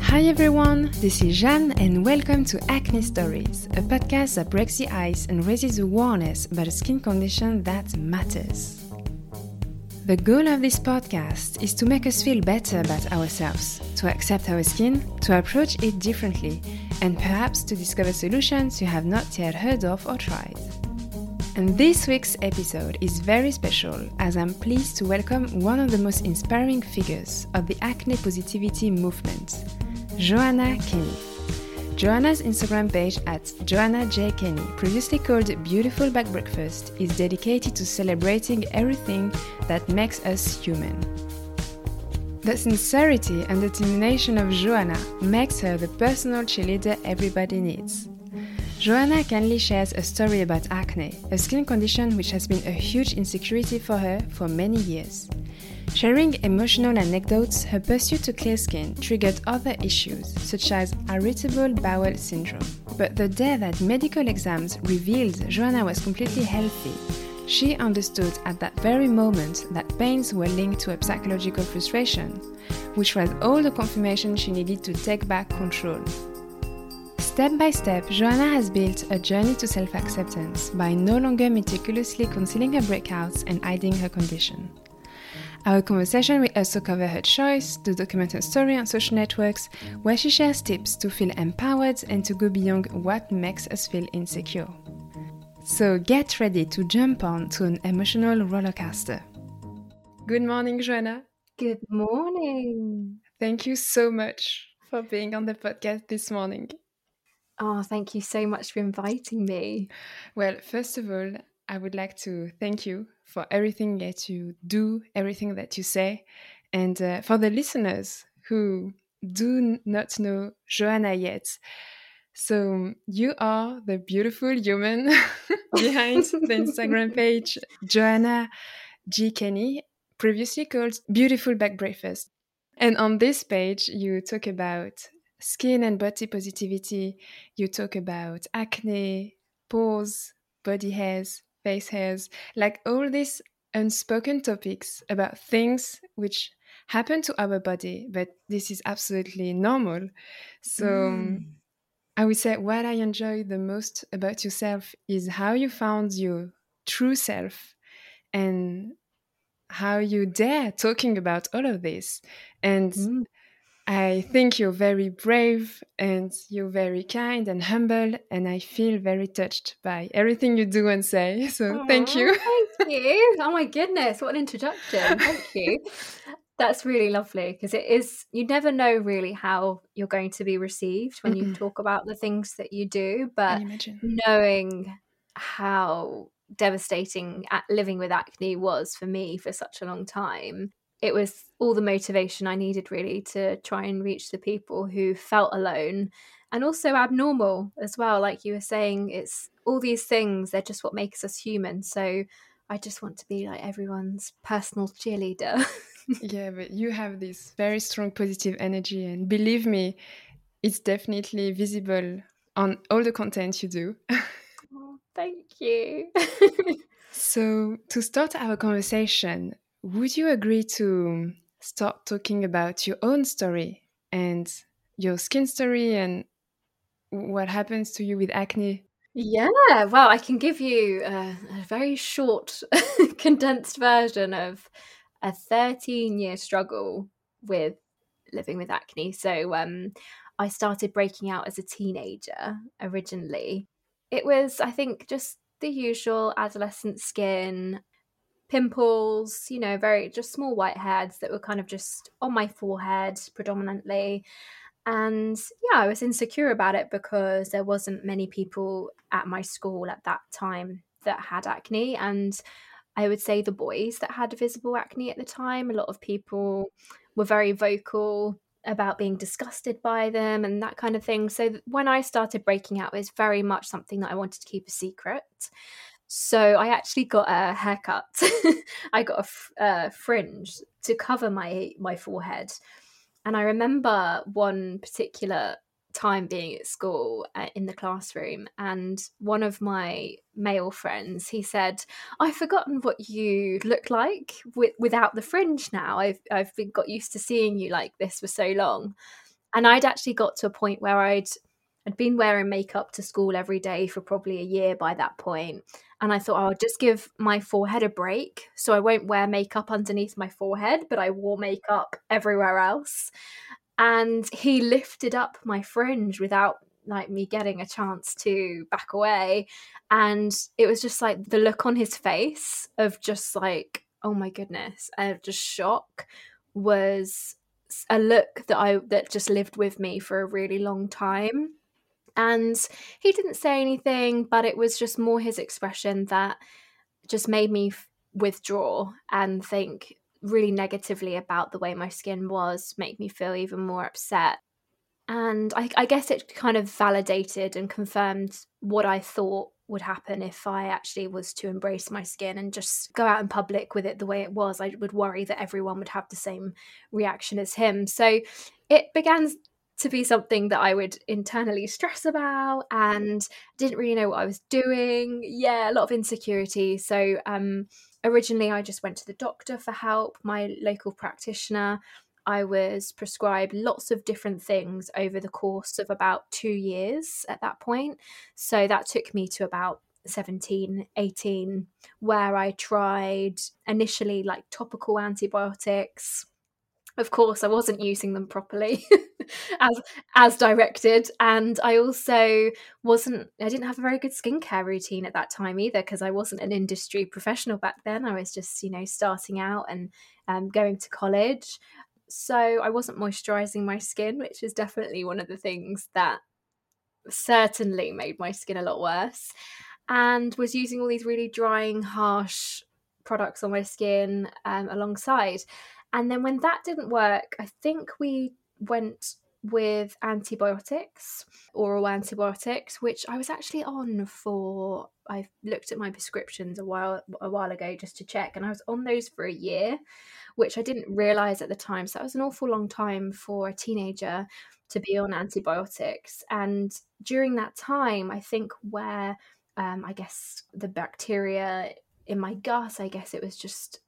Hi everyone, this is Jeanne and welcome to Acne Stories, a podcast that breaks the ice and raises awareness about a skin condition that matters. The goal of this podcast is to make us feel better about ourselves, to accept our skin, to approach it differently, and perhaps to discover solutions you have not yet heard of or tried. And this week's episode is very special as I'm pleased to welcome one of the most inspiring figures of the acne positivity movement, Joanna Kenny. Joanna's Instagram page at Joanna J. Kenny, previously called Beautiful Back Breakfast, is dedicated to celebrating everything that makes us human. The sincerity and determination of Joanna makes her the personal cheerleader everybody needs. Joanna kindly shares a story about acne, a skin condition which has been a huge insecurity for her for many years. Sharing emotional anecdotes, her pursuit to clear skin triggered other issues, such as irritable bowel syndrome. But the day that medical exams revealed Joanna was completely healthy, she understood at that very moment that pains were linked to a psychological frustration, which was all the confirmation she needed to take back control. Step by step, Joanna has built a journey to self-acceptance by no longer meticulously concealing her breakouts and hiding her condition. Our conversation will also cover her choice to document her story on social networks, where she shares tips to feel empowered and to go beyond what makes us feel insecure. So get ready to jump on to an emotional roller coaster. Good morning, Joanna. Good morning. Thank you so much for being on the podcast this morning. Oh, thank you so much for inviting me. Well, first of all, I would like to thank you for everything that you do, everything that you say, and for the listeners who do not know Joanna yet. So you are the beautiful human behind the Instagram page Joanna G. Kenny, previously called Beautiful Back Breakfast. And on this page, you talk about skin and body positivity, you talk about acne, pores, body hairs, face hairs, like all these unspoken topics about things which happen to our body, but this is absolutely normal. So I would say what I enjoy the most about yourself is how you found your true self and how you dare talking about all of this. And I think you're very brave and you're very kind and humble, and I feel very touched by everything you do and say. So thank you. Thank you. Oh my goodness, what an introduction. Thank you. That's really lovely because it is, you never know really how you're going to be received when you talk about the things that you do, but knowing how devastating living with acne was for me for such a long time, it was all the motivation I needed really to try and reach the people who felt alone and also abnormal as well. Like you were saying, it's all these things, they're just what makes us human. So I just want to be like everyone's personal cheerleader. Yeah, but you have this very strong positive energy, and believe me, it's definitely visible on all the content you do. Oh, thank you. So, to start our conversation, would you agree to start talking about your own story and your skin story and what happens to you with acne? Yeah, well, I can give you a very short, condensed version of a 13-year struggle with living with acne. So I started breaking out as a teenager originally. It was, I think, just the usual adolescent skin, pimples, very just small whiteheads that were kind of just on my forehead predominantly. And yeah, I was insecure about it because there wasn't many people at my school at that time that had acne. And I would say the boys that had visible acne at the time, a lot of people were very vocal about being disgusted by them and that kind of thing. So when I started breaking out, it was very much something that I wanted to keep a secret. So I actually got a haircut. I got a fringe to cover my forehead. And I remember one particular time being at school in the classroom, and one of my male friends, he said, I've forgotten what you look like without the fringe now. I've got used to seeing you like this for so long. And I'd actually got to a point where I'd been wearing makeup to school every day for probably a year by that point, and I thought, "I'll just give my forehead a break, so I won't wear makeup underneath my forehead," but I wore makeup everywhere else, and he lifted up my fringe without, like, me getting a chance to back away, and it was just, like, the look on his face of just, like, "Oh my goodness," and of just shock was a look that just lived with me for a really long time. And he didn't say anything, but it was just more his expression that just made me withdraw and think really negatively about the way my skin was, make me feel even more upset. And I guess it kind of validated and confirmed what I thought would happen if I actually was to embrace my skin and just go out in public with it the way it was. I would worry that everyone would have the same reaction as him. So it began to be something that I would internally stress about and didn't really know what I was doing. Yeah, a lot of insecurity. So originally I just went to the doctor for help, my local practitioner. I was prescribed lots of different things over the course of about 2 years at that point. So that took me to about 17, 18, where I tried initially like topical antibiotics. Of course, I wasn't using them properly as as directed, and I also I didn't have a very good skincare routine at that time either because I wasn't an industry professional back then. I was just, starting out and going to college. So I wasn't moisturizing my skin, which is definitely one of the things that certainly made my skin a lot worse, and was using all these really drying, harsh products on my skin alongside. And then when that didn't work, I think we went with antibiotics, oral antibiotics, which I was actually on for. I looked at my prescriptions a while ago just to check, and I was on those for a year, which I didn't realize at the time. So that was an awful long time for a teenager to be on antibiotics. And during that time, I think where I guess the bacteria in my gut, I guess it was just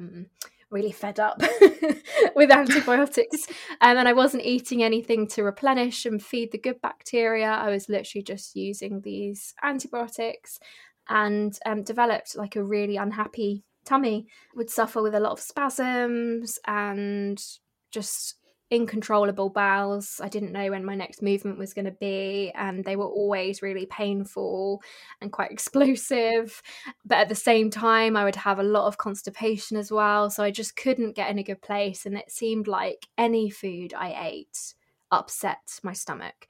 really fed up with antibiotics. And I wasn't eating anything to replenish and feed the good bacteria. I was literally just using these antibiotics and developed like a really unhappy tummy, would suffer with a lot of spasms and just uncontrollable bowels. I didn't know when my next movement was going to be, and they were always really painful and quite explosive. But at the same time, I would have a lot of constipation as well. So I just couldn't get in a good place. And it seemed like any food I ate upset my stomach.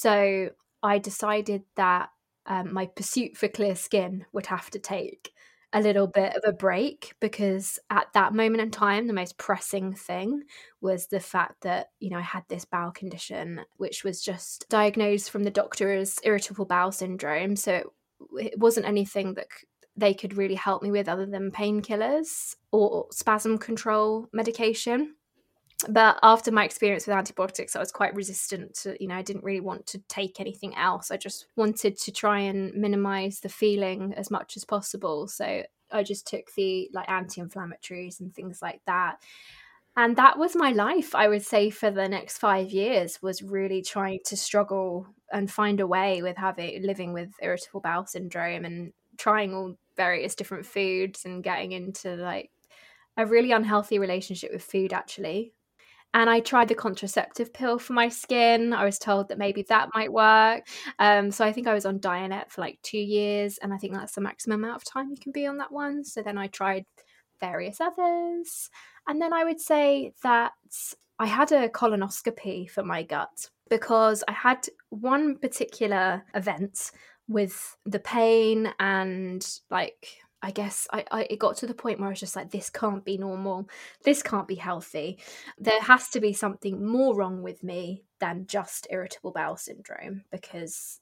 So I decided that my pursuit for clear skin would have to take a little bit of a break, because at that moment in time, the most pressing thing was the fact that, I had this bowel condition, which was just diagnosed from the doctor as irritable bowel syndrome. So it wasn't anything that they could really help me with other than painkillers or spasm control medication. But after my experience with antibiotics, I was quite resistant to, I didn't really want to take anything else. I just wanted to try and minimize the feeling as much as possible. So I just took the like anti-inflammatories and things like that. And that was my life, I would say, for the next 5 years, was really trying to struggle and find a way with living with irritable bowel syndrome and trying all various different foods and getting into like a really unhealthy relationship with food, actually. And I tried the contraceptive pill for my skin. I was told that maybe that might work. So I think I was on Dianet for like 2 years, and I think that's the maximum amount of time you can be on that one. So then I tried various others. And then I would say that I had a colonoscopy for my gut because I had one particular event with the pain and like I guess it got to the point where I was just like, this can't be normal. This can't be healthy. There has to be something more wrong with me than just irritable bowel syndrome, because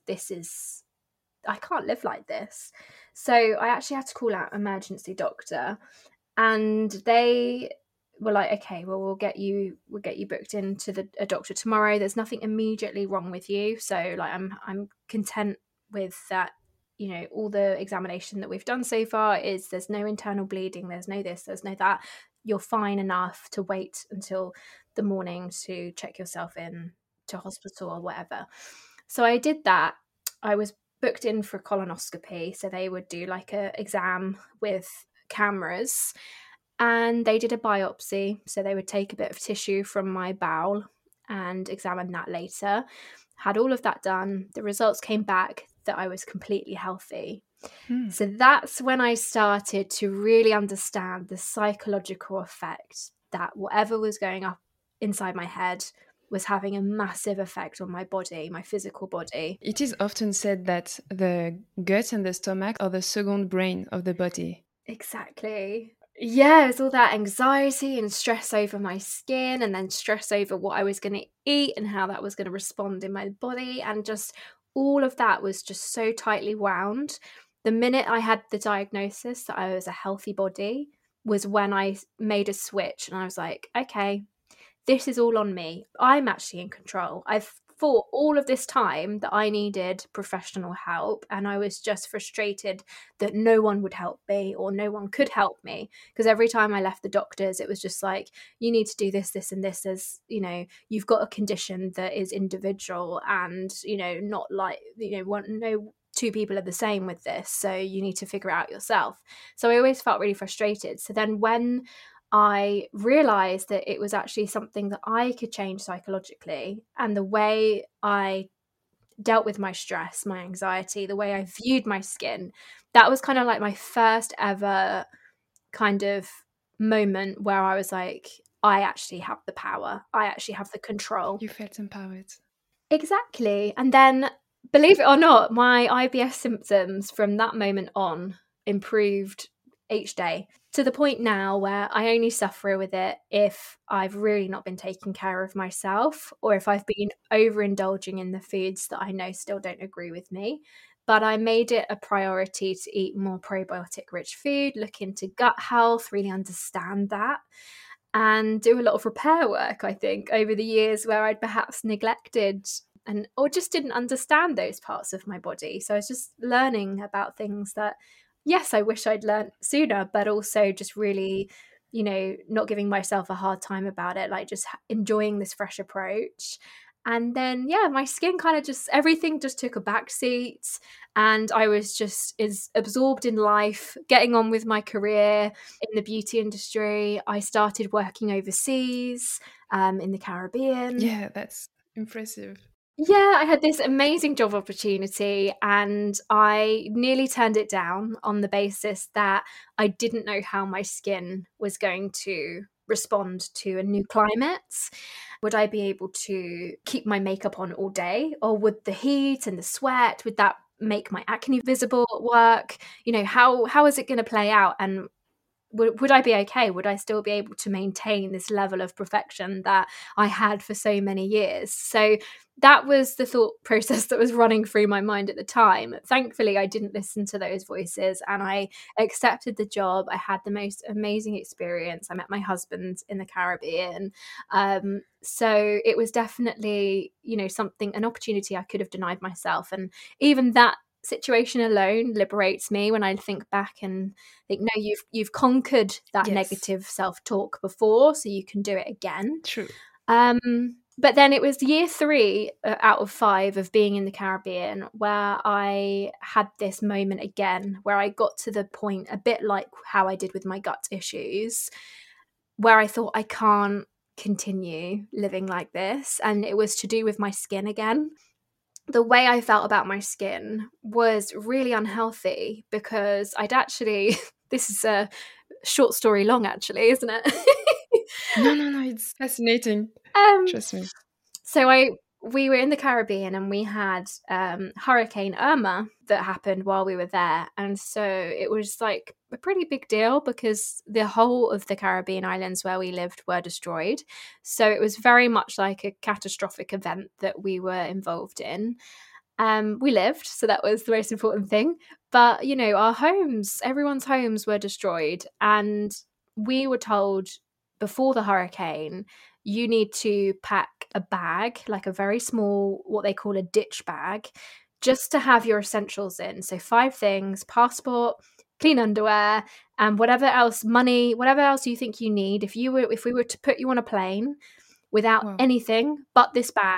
I can't live like this. So I actually had to call out emergency doctor, and they were like, okay, well, we'll get you booked into a doctor tomorrow. There's nothing immediately wrong with you. So like, I'm content with that. All the examination that we've done so far is there's no internal bleeding, there's no this, there's no that. You're fine enough to wait until the morning to check yourself in to hospital or whatever. So I did that. I was booked in for colonoscopy. So they would do like a exam with cameras, and they did a biopsy. So they would take a bit of tissue from my bowel and examine that later. Had all of that done. The results came back that I was completely healthy. So that's when I started to really understand the psychological effect that whatever was going up inside my head was having a massive effect on my body, my physical body. It is often said that the gut and the stomach are the second brain of the body. Exactly. Yeah, it was all that anxiety and stress over my skin, and then stress over what I was going to eat and how that was going to respond in my body. And just all of that was just so tightly wound. The minute I had the diagnosis that I was a healthy body was when I made a switch, and I was like, okay, this is all on me. I'm actually in control. I've thought all of this time that I needed professional help, and I was just frustrated that no one would help me or no one could help me, because every time I left the doctors it was just like, you need to do this, this and this, as you know, you've got a condition that is individual, and you know, not like, you know, no two people are the same with this, so you need to figure it out yourself. So I always felt really frustrated. So then when I realized that it was actually something that I could change psychologically, and the way I dealt with my stress, my anxiety, the way I viewed my skin, that was kind of like my first ever kind of moment where I was like, I actually have the power. I actually have the control. You felt empowered. Exactly. And then, believe it or not, my IBS symptoms from that moment on improved each day, to the point now where I only suffer with it if I've really not been taking care of myself, or if I've been overindulging in the foods that I know still don't agree with me. But I made it a priority to eat more probiotic rich food, look into gut health, really understand that, and do a lot of repair work, I think, over the years where I'd perhaps neglected and or just didn't understand those parts of my body. So I was just learning about things that, yes, I wish I'd learned sooner, but also just really, you know, not giving myself a hard time about it, like just enjoying this fresh approach. And then, yeah, my skin kind of just, everything just took a back seat, and I was just as absorbed in life, getting on with my career in the beauty industry. I started working overseas, in the Caribbean. Yeah, that's impressive. Yeah, I had this amazing job opportunity, and I nearly turned it down on the basis that I didn't know how my skin was going to respond to a new climate. Would I be able to keep my makeup on all day, or would the heat and the sweat, would that make my acne visible at work? You know, how is it going to play out? And would I be okay? Would I still be able to maintain this level of perfection that I had for so many years? So that was the thought process that was running through my mind at the time. Thankfully, I didn't listen to those voices, and I accepted the job. I had the most amazing experience. I met my husband in the Caribbean. So it was definitely, you know, something, an opportunity I could have denied myself. And even that situation alone liberates me when I think back and think, no, you've conquered that negative self-talk before, so you can do it again. True. But then it was year 3 out of 5 of being in the Caribbean where I had this moment again, where I got to the point, a bit like how I did with my gut issues, where I thought, I can't continue living like this. And it was to do with my skin again. The way I felt about my skin was really unhealthy, because I'd actually, this is a short story long actually, isn't it? No, it's fascinating. Trust me. So we were in the Caribbean, and we had Hurricane Irma that happened while we were there. And so it was like a pretty big deal, because the whole of the Caribbean islands where we lived were destroyed. So it was very much like a catastrophic event that we were involved in. We lived, so that was the most important thing. But, you know, our homes, everyone's homes were destroyed. And we were told before the hurricane, you need to pack a bag, like a very small, what they call a ditch bag, just to have your essentials in. So 5 things: passport, clean underwear, and whatever else, money, whatever else you think you need. If we were to put you on a plane without anything but this bag,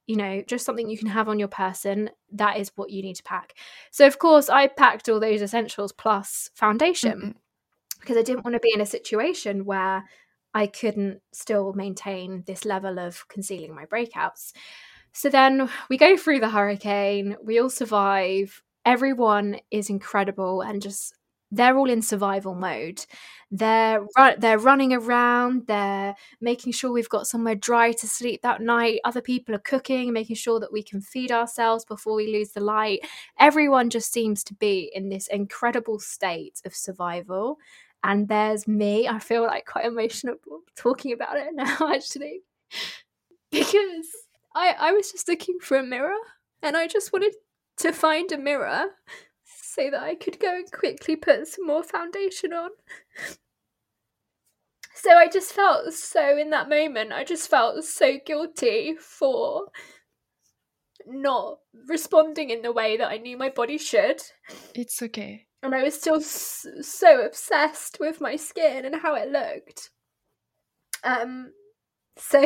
just something you can have on your person. That is what you need to pack. So of course I packed all those essentials plus foundation because I didn't want to be in a situation where I couldn't still maintain this level of concealing my breakouts. So then we go through the hurricane, we all survive. Everyone is incredible and just they're all in survival mode. They're running around, they're making sure we've got somewhere dry to sleep that night. Other people are cooking, making sure that we can feed ourselves before we lose the light. Everyone just seems to be in this incredible state of survival. And there's me. I feel like quite emotional talking about it now, actually, because I was just looking for a mirror and I just wanted to find a mirror so that I could go and quickly put some more foundation on. So I just felt so, in that moment, I just felt so guilty for not responding in the way that I knew my body should. It's okay. And I was still so obsessed with my skin and how it looked. So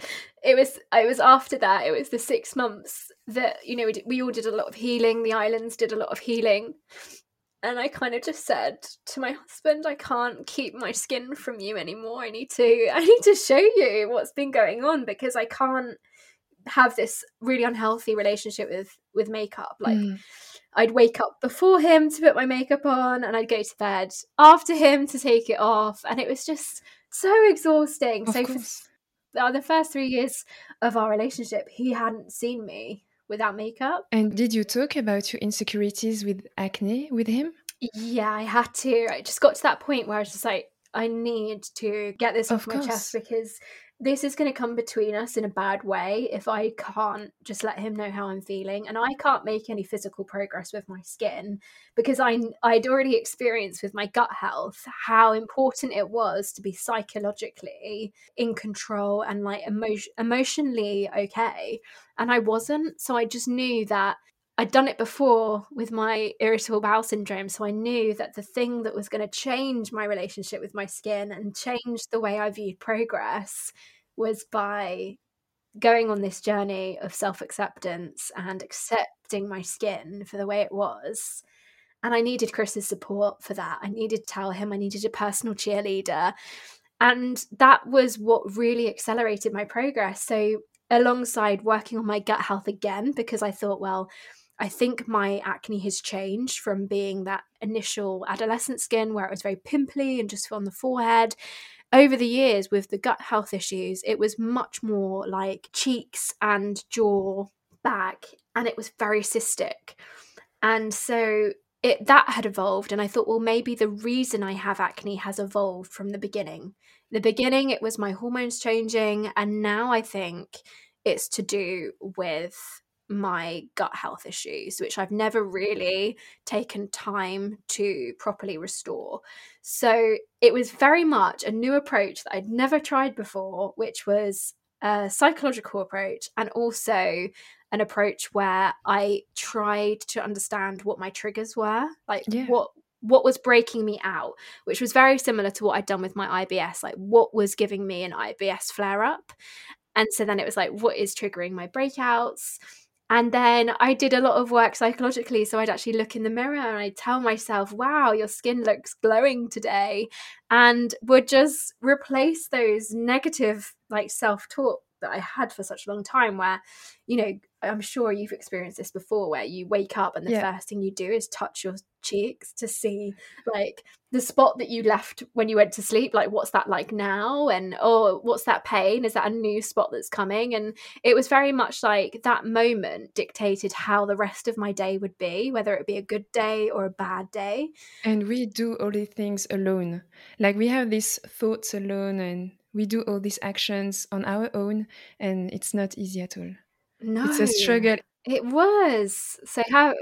it was after that, it was the 6 months that, we all did a lot of healing. The islands did a lot of healing. And I kind of just said to my husband, I can't keep my skin from you anymore. I need to show you what's been going on, because I can't have this really unhealthy relationship with makeup. Like I'd wake up before him to put my makeup on and I'd go to bed after him to take it off. And it was just so exhausting. Of So course. for the first 3 years of our relationship, he hadn't seen me without makeup. And did you talk about your insecurities with acne with him? Yeah, I had to. I just got to that point where I was just like, I need to get this off my chest, because this is going to come between us in a bad way if I can't just let him know how I'm feeling. And I can't make any physical progress with my skin, because I'd already experienced with my gut health how important it was to be psychologically in control and like emotionally okay. And I wasn't. So I just knew that I'd done it before with my irritable bowel syndrome. So I knew that the thing that was going to change my relationship with my skin and change the way I viewed progress was by going on this journey of self-acceptance and accepting my skin for the way it was. And I needed Chris's support for that. I needed to tell him, I needed a personal cheerleader. And that was what really accelerated my progress. So alongside working on my gut health again, because I thought, well, I think my acne has changed from being that initial adolescent skin where it was very pimply and just on the forehead. Over the years with the gut health issues, it was much more like cheeks and jaw, back, and it was very cystic. And so that had evolved, and I thought, well, maybe the reason I have acne has evolved from the beginning. The beginning, it was my hormones changing, and now I think it's to do with my gut health issues, which I've never really taken time to properly restore. So it was very much a new approach that I'd never tried before, which was a psychological approach, and also an approach where I tried to understand what my triggers were, like what was breaking me out, which was very similar to what I'd done with my IBS, like what was giving me an IBS flare up. And so then it was like, what is triggering my breakouts? And then I did a lot of work psychologically. So I'd actually look in the mirror and I'd tell myself, wow, your skin looks glowing today. And would just replace those negative like self-talk that I had for such a long time, where, I'm sure you've experienced this before, where you wake up and the first thing you do is touch your cheeks to see like the spot that you left when you went to sleep, like what's that like now, and what's that pain, is that a new spot that's coming? And it was very much like that moment dictated how the rest of my day would be, whether it be a good day or a bad day. And we do all these things alone, like we have these thoughts alone, and we do all these actions on our own, and it's not easy at all. No, it's a struggle. It was. So how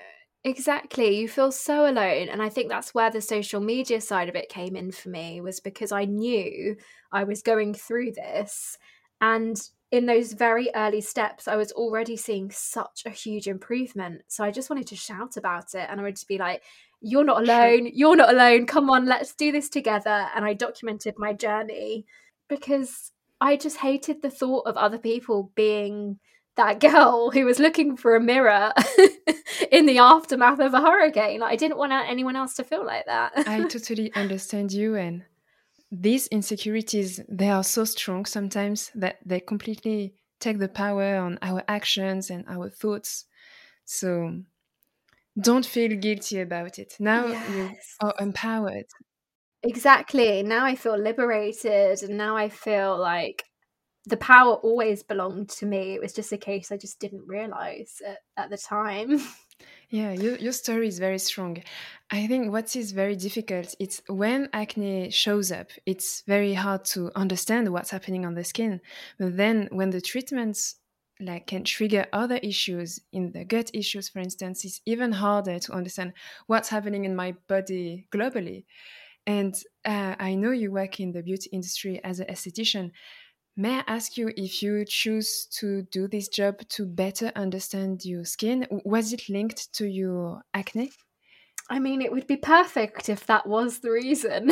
exactly, you feel so alone. And I think that's where the social media side of it came in for me, was because I knew I was going through this, and in those very early steps I was already seeing such a huge improvement. So I just wanted to shout about it, and I would just be like, you're not alone, you're not alone, come on, let's do this together. And I documented my journey because I just hated the thought of other people being that girl who was looking for a mirror in the aftermath of a hurricane. Like, I didn't want anyone else to feel like that. I totally understand you. And these insecurities, they are so strong sometimes that they completely take the power on our actions and our thoughts. So don't feel guilty about it. Now you Yes. are empowered. Exactly. Now I feel liberated, and now I feel like the power always belonged to me. It was just a case I just didn't realize at the time. Yeah, your story is very strong. I think what is very difficult, it's when acne shows up, it's very hard to understand what's happening on the skin. But then when the treatments like can trigger other issues in the gut issues, for instance, it's even harder to understand what's happening in my body globally. And I know you work in the beauty industry as an esthetician. May I ask you if you choose to do this job to better understand your skin? Was it linked to your acne? I mean, it would be perfect if that was the reason.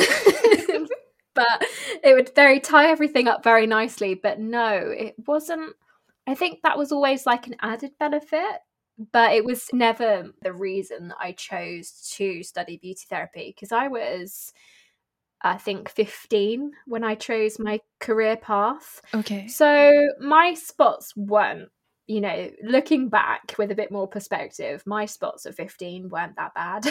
But it would tie everything up very nicely. But no, it wasn't. I think that was always like an added benefit, but it was never the reason that I chose to study beauty therapy, because I was, I think, 15 when I chose my career path. Okay. So my spots weren't, looking back with a bit more perspective, my spots at 15 weren't that bad.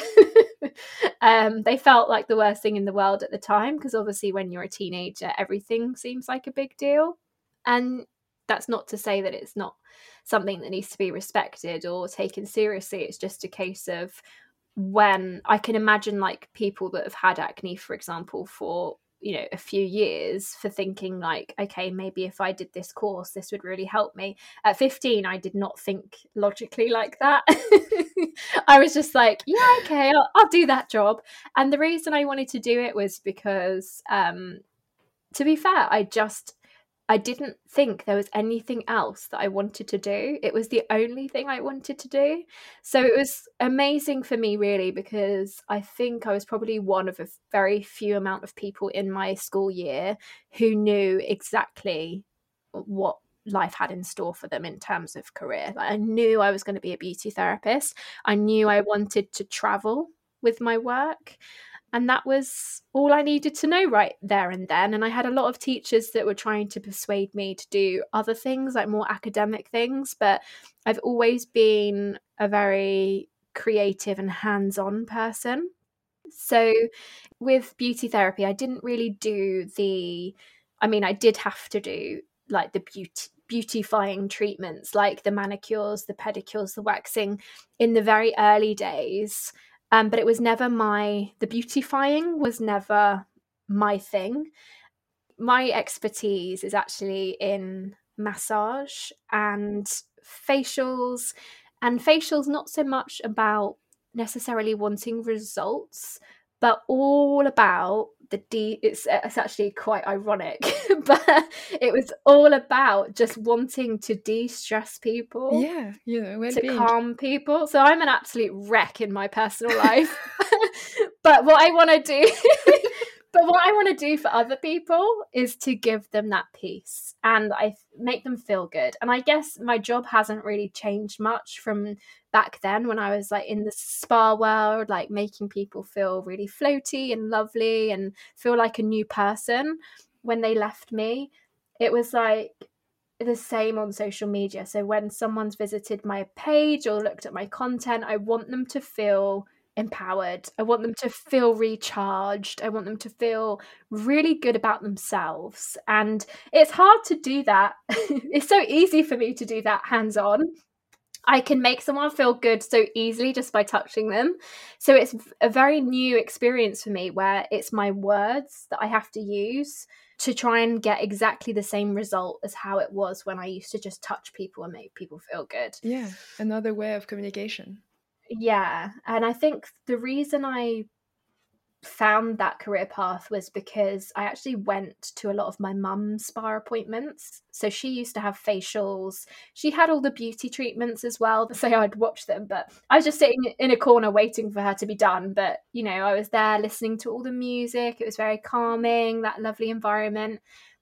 They felt like the worst thing in the world at the time, because obviously when you're a teenager, everything seems like a big deal. And that's not to say that it's not something that needs to be respected or taken seriously. It's just a case of, when I can imagine like people that have had acne, for example, for a few years, for thinking like, okay, maybe if I did this course, this would really help me. At 15, I did not think logically like that. I was just like, yeah, okay, I'll do that job. And the reason I wanted to do it was because, to be fair, I didn't think there was anything else that I wanted to do. It was the only thing I wanted to do. So it was amazing for me, really, because I think I was probably one of a very few amount of people in my school year who knew exactly what life had in store for them in terms of career. Like, I knew I was going to be a beauty therapist. I knew I wanted to travel with my work. And that was all I needed to know right there and then. And I had a lot of teachers that were trying to persuade me to do other things, like more academic things. But I've always been a very creative and hands-on person. So with beauty therapy, I didn't really do I did have to do like the beautifying treatments, like the manicures, the pedicures, the waxing in the very early days. But it was never the beautifying was never my thing. My expertise is actually in massage and facials, not so much about necessarily wanting results, but all about it's actually quite ironic, but it was all about just wanting to de-stress people, Yeah, to well-being. calm people. So I'm an absolute wreck in my personal life. But what I want to do for other people is to give them that peace, and I make them feel good. And I guess my job hasn't really changed much from back then, when I was like in the spa world, like making people feel really floaty and lovely and feel like a new person when they left me. It was like the same on social media. So when someone's visited my page or looked at my content, I want them to feel empowered. I want them to feel recharged. I want them to feel really good about themselves. And it's hard to do that. It's so easy for me to do that hands-on. I can make someone feel good so easily just by touching them. So it's a very new experience for me, where it's my words that I have to use to try and get exactly the same result as how it was when I used to just touch people and make people feel good. Yeah, another way of communication. Yeah. And I think the reason I found that career path was because I actually went to a lot of my mum's spa appointments. So she used to have facials. She had all the beauty treatments as well. So I'd watch them, but I was just sitting in a corner waiting for her to be done. But, I was there listening to all the music. It was very calming, that lovely environment.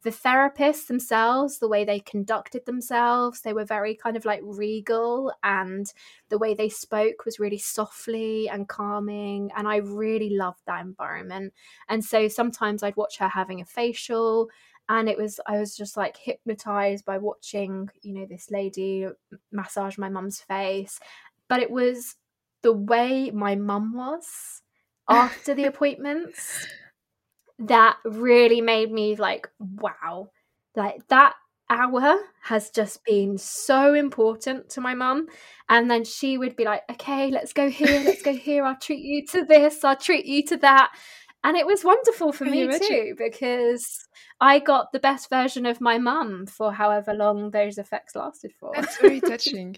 the therapists themselves, the way they conducted themselves, they were very kind of like regal, and the way they spoke was really softly and calming. And I really loved that environment. And so sometimes I'd watch her having a facial, and I was just like hypnotized by watching, you know, this lady massage my mum's face. But it was the way my mum was after the appointments that really made me like, wow, like that hour has just been so important to my mum. And then she would be like, okay, let's go here, I'll treat you to this, I'll treat you to that. And it was wonderful for Can you me imagine? too, because I got the best version of my mum for however long those effects lasted for. That's very touching.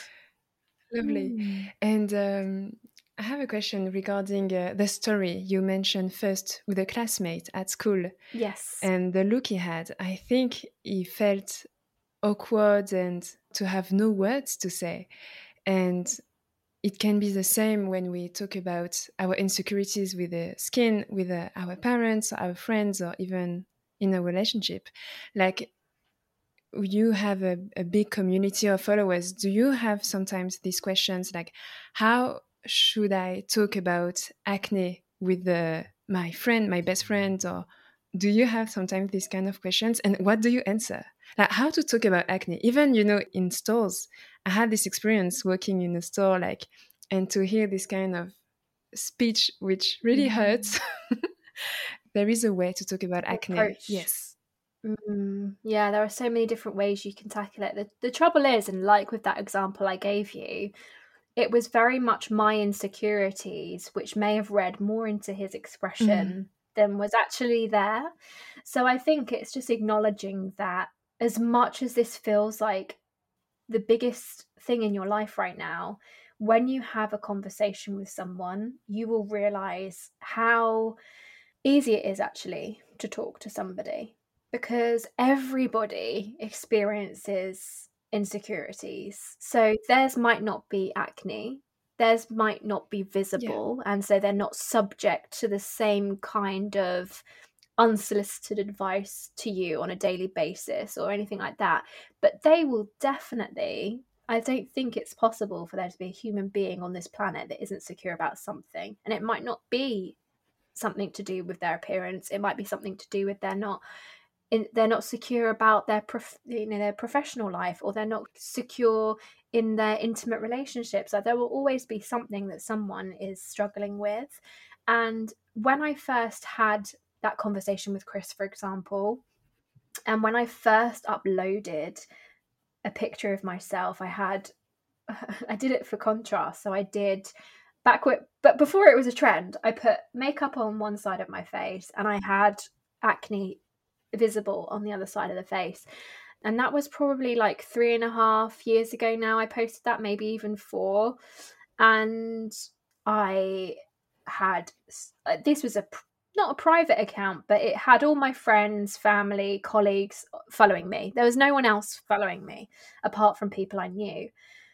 Lovely. Mm. And I have a question regarding the story you mentioned first with a classmate at school Yes. and the look he had. I think he felt awkward and to have no words to say. And it can be the same when we talk about our insecurities with the skin, with our parents, our friends, or even in a relationship. Like, you have a big community of followers. Do you have sometimes these questions like, how should I talk about acne with my friend, my best friend? Or do you have sometimes these kind of questions? And what do you answer? Like, how to talk about acne? Even, you know, in stores, I had this experience working in a store, like, and to hear this kind of speech, which really hurts. There is a way to talk about acne. Approach. Yes. Yeah, there are so many different ways you can tackle it. The trouble is, and like with that example I gave you, it was very much my insecurities, which may have read more into his expression than was actually there. So I think it's just acknowledging that as much as this feels like the biggest thing in your life right now, when you have a conversation with someone, you will realize how easy it is actually to talk to somebody, because everybody experiences insecurities. So theirs might not be acne, theirs might not be visible, and so they're not subject to the same kind of unsolicited advice to you on a daily basis or anything like that. But they will definitely, I don't think it's possible for there to be a human being on this planet that isn't secure about something. And it might not be something to do with their appearance, it might be something to do with they're not secure about their their professional life, or they're not secure in their intimate relationships. Like, there will always be something that someone is struggling with. And when I first had that conversation with Chris, for example, and when I first uploaded a picture of myself, I did it for contrast. So I did but before it was a trend, I put makeup on one side of my face and I had acne visible on the other side of the face. And that was probably like 3.5 years ago now. I posted that, maybe even 4. And I had, this was not a private account, but it had all my friends, family, colleagues following me. There was no one else following me apart from people I knew.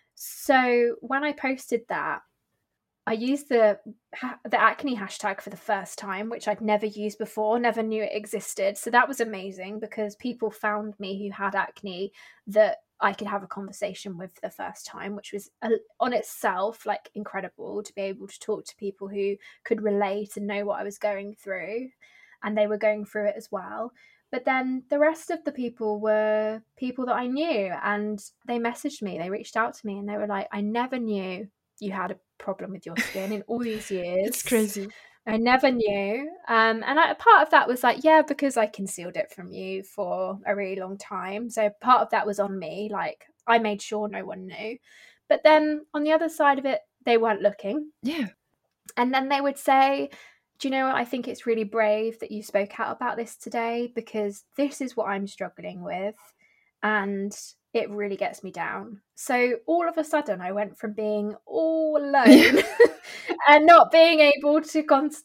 So when I posted that, I used the acne hashtag for the first time, which I'd never used before, never knew it existed. So that was amazing, because people found me who had acne that I could have a conversation with for the first time, which was on itself like incredible, to be able to talk to people who could relate and know what I was going through, and they were going through it as well. But then the rest of the people were people that I knew, and they messaged me, they reached out to me, and they were like, I never knew you had a problem with your skin in all these years. It's crazy. I never knew. And part of that was like, yeah, because I concealed it from you for a really long time. So part of that was on me. Like, I made sure no one knew. But then on the other side of it, they weren't looking. Yeah. And then they would say, do you know what? I think it's really brave that you spoke out about this today, because this is what I'm struggling with. And it really gets me down. So all of a sudden, I went from being all alone and not being able to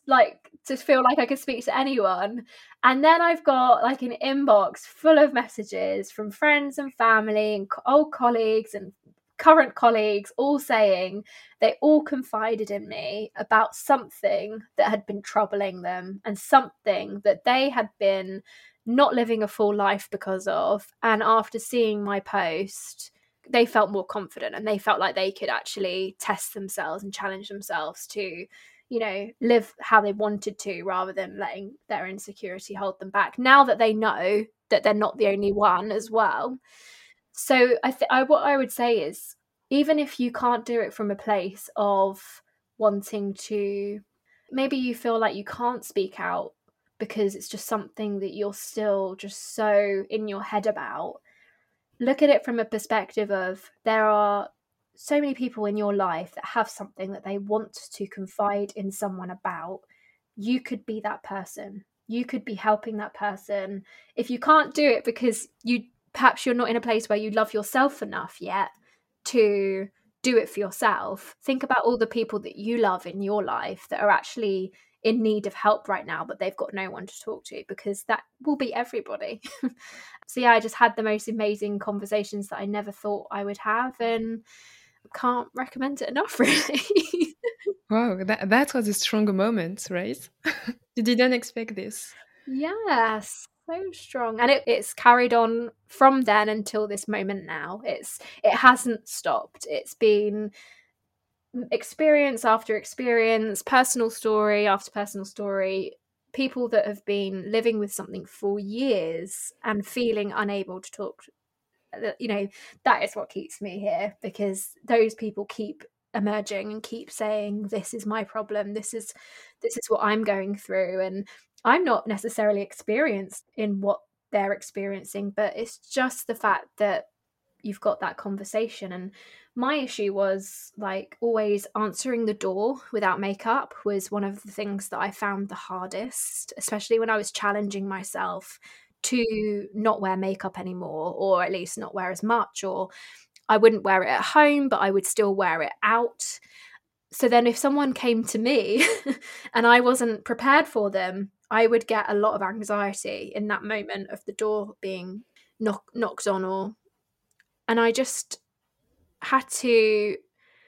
to feel like I could speak to anyone. And then I've got like an inbox full of messages from friends and family and old colleagues and current colleagues, all saying they all confided in me about something that had been troubling them, and something that they had been not living a full life because of. And after seeing my post, they felt more confident and they felt like they could actually test themselves and challenge themselves to, you know, live how they wanted to rather than letting their insecurity hold them back. Now that they know that they're not the only one as well. So what I would say is, even if you can't do it from a place of wanting to, maybe you feel like you can't speak out because it's just something that you're still just so in your head about, look at it from a perspective of there are so many people in your life that have something that they want to confide in someone about. You could be that person. You could be helping that person. If you can't do it because perhaps you're not in a place where you love yourself enough yet to do it for yourself, think about all the people that you love in your life that are actually in need of help right now, but they've got no one to talk to, because that will be everybody. So yeah, I just had the most amazing conversations that I never thought I would have, and can't recommend it enough, really. Wow, that was a strong moment, right? You didn't expect this. Yes, so strong. And it's carried on from then until this moment now. It hasn't stopped. It's been experience after experience, personal story after personal story, people that have been living with something for years and feeling unable to talk. You know, that is what keeps me here, because those people keep emerging and keep saying, this is my problem, this is what I'm going through, and I'm not necessarily experienced in what they're experiencing, but it's just the fact that you've got that conversation. And my issue was, like, always answering the door without makeup was one of the things that I found the hardest, especially when I was challenging myself to not wear makeup anymore, or at least not wear as much, or I wouldn't wear it at home, but I would still wear it out. So then if someone came to me and I wasn't prepared for them, I would get a lot of anxiety in that moment of the door being knocked on, and I just had to,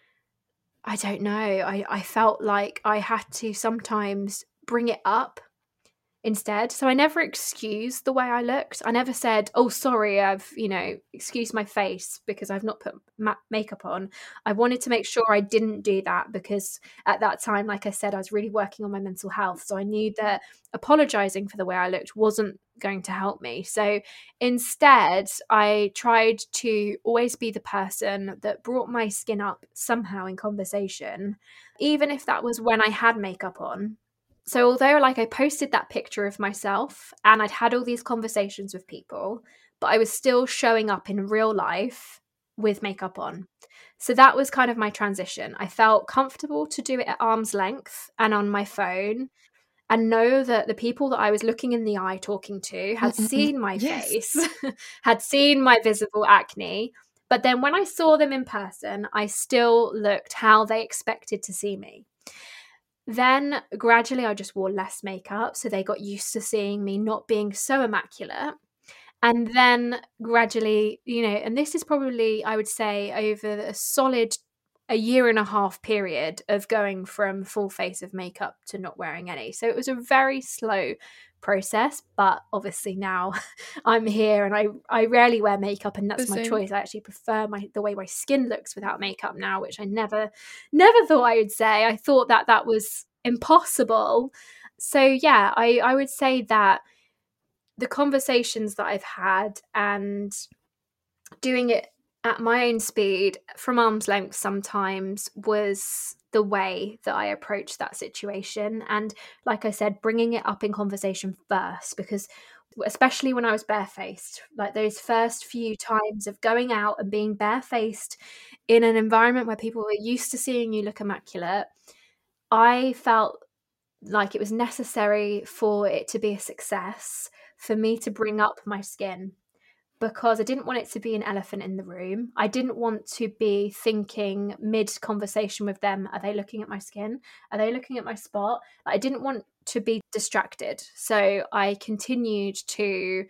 I don't know, I felt like I had to sometimes bring it up instead. So I never excused the way I looked. I never said, oh, sorry, I've, excused my face because I've not put makeup on. I wanted to make sure I didn't do that, because at that time, like I said, I was really working on my mental health. So I knew that apologizing for the way I looked wasn't going to help me. So instead, I tried to always be the person that brought my skin up somehow in conversation, even if that was when I had makeup on. So although, like, I posted that picture of myself and I'd had all these conversations with people, but I was still showing up in real life with makeup on. So that was kind of my transition. I felt comfortable to do it at arm's length and on my phone, and know that the people that I was looking in the eye talking to had seen my face, had seen my visible acne. But then when I saw them in person, I still looked how they expected to see me. Then gradually I just wore less makeup, so they got used to seeing me not being so immaculate. And then gradually, and this is probably, I would say, over a solid a year and a half period of going from full face of makeup to not wearing any. So it was a very slow process, but obviously now I'm here and I rarely wear makeup, and that's my choice. I actually prefer the way my skin looks without makeup now, which I never thought I would say. I thought that was impossible. So yeah, I would say that the conversations that I've had and doing it at my own speed from arm's length sometimes was the way that I approached that situation. And like I said, bringing it up in conversation first, because especially when I was barefaced, like those first few times of going out and being barefaced in an environment where people were used to seeing you look immaculate, I felt like it was necessary for it to be a success for me to bring up my skin, because I didn't want it to be an elephant in the room. I didn't want to be thinking mid-conversation with them, are they looking at my skin? Are they looking at my spot? I didn't want to be distracted. So I continued to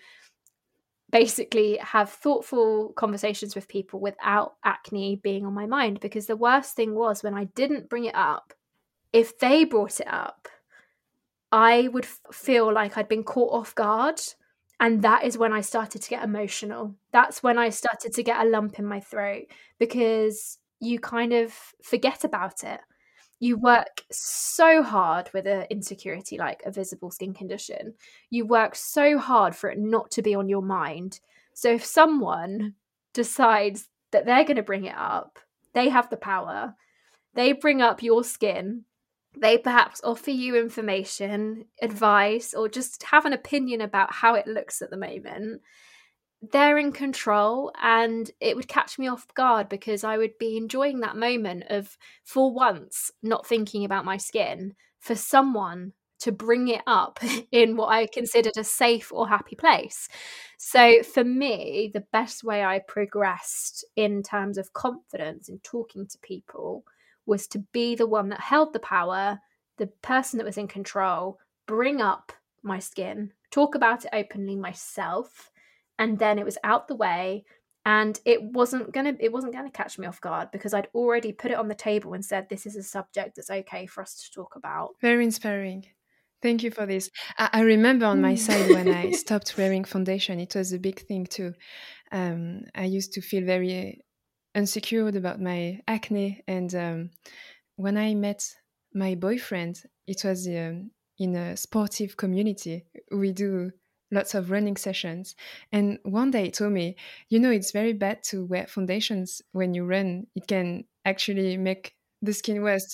basically have thoughtful conversations with people without acne being on my mind, because the worst thing was when I didn't bring it up, if they brought it up, I would feel like I'd been caught off guard. And that is when I started to get emotional. That's when I started to get a lump in my throat, because you kind of forget about it. You work so hard with an insecurity like a visible skin condition. You work so hard for it not to be on your mind. So if someone decides that they're going to bring it up, they have the power. They bring up your skin. They perhaps offer you information, advice, or just have an opinion about how it looks at the moment. They're in control, and it would catch me off guard because I would be enjoying that moment of, for once, not thinking about my skin, for someone to bring it up in what I considered a safe or happy place. So for me, the best way I progressed in terms of confidence in talking to people was to be the one that held the power, the person that was in control, bring up my skin, talk about it openly myself, and then it was out the way, and it wasn't gonna catch me off guard because I'd already put it on the table and said, this is a subject that's okay for us to talk about. Very inspiring. Thank you for this. I remember on my side when I stopped wearing foundation, it was a big thing too. I used to feel very insecure about my acne, and when I met my boyfriend, it was in a sportive community. We do lots of running sessions, and one day he told me, it's very bad to wear foundations when you run. It can actually make the skin worse.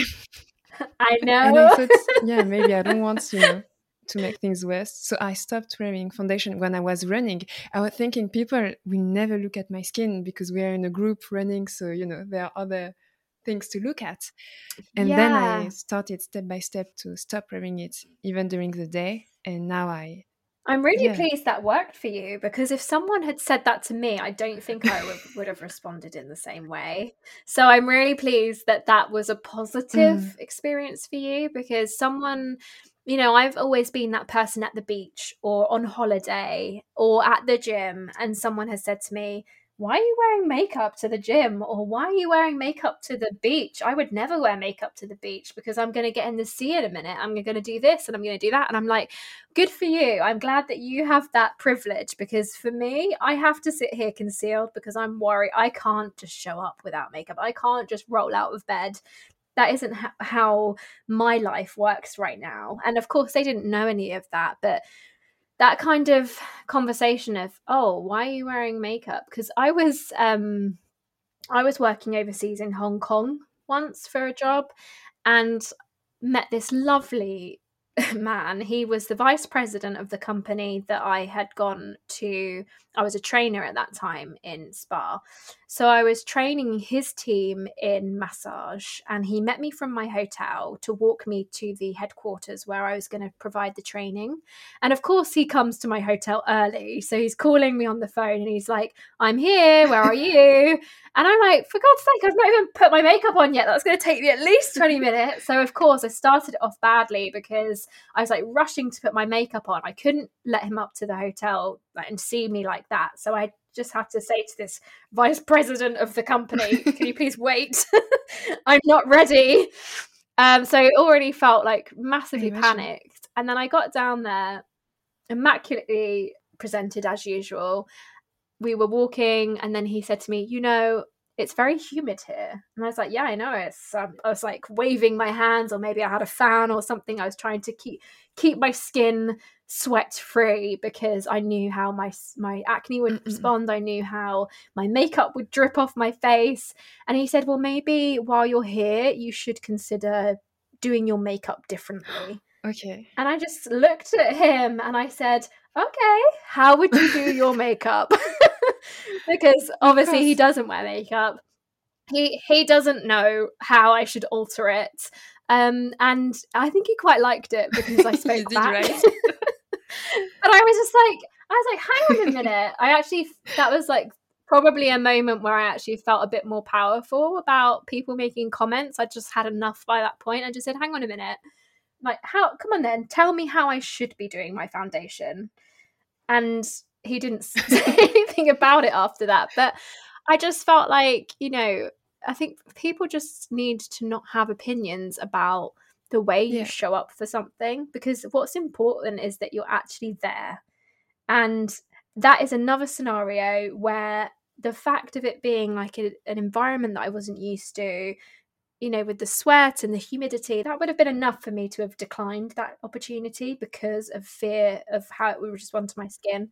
I know. And I thought, maybe I don't want to make things worse. So I stopped wearing foundation when I was running. I was thinking people will never look at my skin because we are in a group running. So, there are other things to look at. And then I started step by step to stop wearing it even during the day. And now I'm really pleased that worked for you, because if someone had said that to me, I don't think I would have responded in the same way. So I'm really pleased that was a positive experience for you, because someone, I've always been that person at the beach or on holiday or at the gym, and someone has said to me, why are you wearing makeup to the gym? Or why are you wearing makeup to the beach? I would never wear makeup to the beach because I'm going to get in the sea in a minute. I'm going to do this and I'm going to do that. And I'm like, good for you. I'm glad that you have that privilege, because for me, I have to sit here concealed because I'm worried. I can't just show up without makeup. I can't just roll out of bed. That isn't how my life works right now. And of course, they didn't know any of that, but that kind of conversation of, oh, why are you wearing makeup? Because I was working overseas in Hong Kong once for a job, and met this lovely man. He was the vice president of the company that I had gone to. I was a trainer at that time in spa. So I was training his team in massage, and he met me from my hotel to walk me to the headquarters where I was going to provide the training. And of course, he comes to my hotel early. So he's calling me on the phone and he's like, I'm here, where are you? And I'm like, for God's sake, I've not even put my makeup on yet. That's going to take me at least 20 minutes. So of course, I started it off badly because I was like rushing to put my makeup on. I couldn't let him up to the hotel and see me like that. So I just had to say to this vice president of the company, can you please wait? I'm not ready. So it already felt like massively panicked. And then I got down there, immaculately presented as usual. We were walking, and then he said to me, it's very humid here. And I was like, yeah, I know. It's I was like waving my hands, or maybe I had a fan or something. I was trying to keep my skin sweat free because I knew how my acne would respond. I knew how my makeup would drip off my face. And he said, well, maybe while you're here, you should consider doing your makeup differently. Okay. And I just looked at him and I said, okay, how would you do your makeup? Because obviously he doesn't wear makeup. He doesn't know how I should alter it. And I think he quite liked it because I spoke back. Right? But I was like, hang on a minute. That was like probably a moment where I actually felt a bit more powerful about people making comments. I just had enough by that point. I just said, hang on a minute. Like, come on then, tell me how I should be doing my foundation. And he didn't say anything about it after that. But I just felt like, I think people just need to not have opinions about the way you show up for something, because what's important is that you're actually there And that is another scenario where the fact of it being like an environment that I wasn't used to, you know, with the sweat and the humidity, that would have been enough for me to have declined that opportunity because of fear of how it would respond to my skin.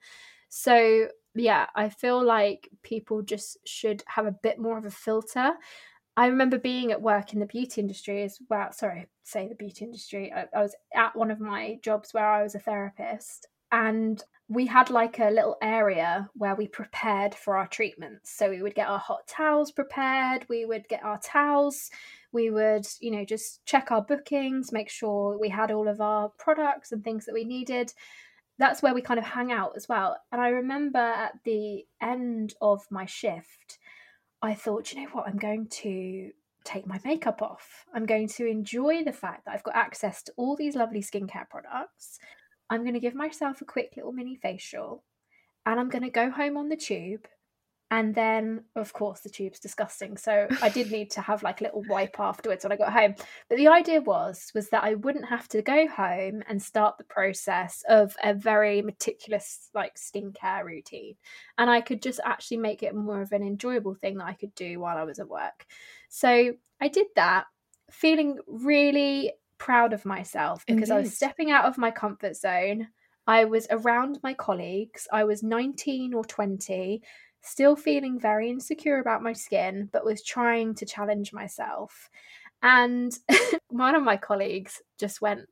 So, yeah, I feel like people just should have a bit more of a filter. I remember being at work in the beauty industry as well. Sorry, say the beauty industry. I was at one of my jobs where I was a therapist, and we had like a little area where we prepared for our treatments. So we would get our hot towels prepared, we would get our towels, we would, you know, just check our bookings, make sure we had all of our products and things that we needed. That's where we kind of hang out as well. And I remember at the end of my shift, I thought, you know what, I'm going to take my makeup off. I'm going to enjoy the fact that I've got access to all these lovely skincare products. I'm going to give myself a quick little mini facial, and I'm going to go home on the tube. And then, of course, the tube's disgusting. So I did need to have like a little wipe afterwards when I got home. But the idea was that I wouldn't have to go home and start the process of a very meticulous like skincare routine. And I could just actually make it more of an enjoyable thing that I could do while I was at work. So I did that, feeling really proud of myself because I was Indeed. stepping out of my comfort zone. I was around my colleagues. I was 19 or 20, still feeling very insecure about my skin, but was trying to challenge myself. And one of my colleagues just went,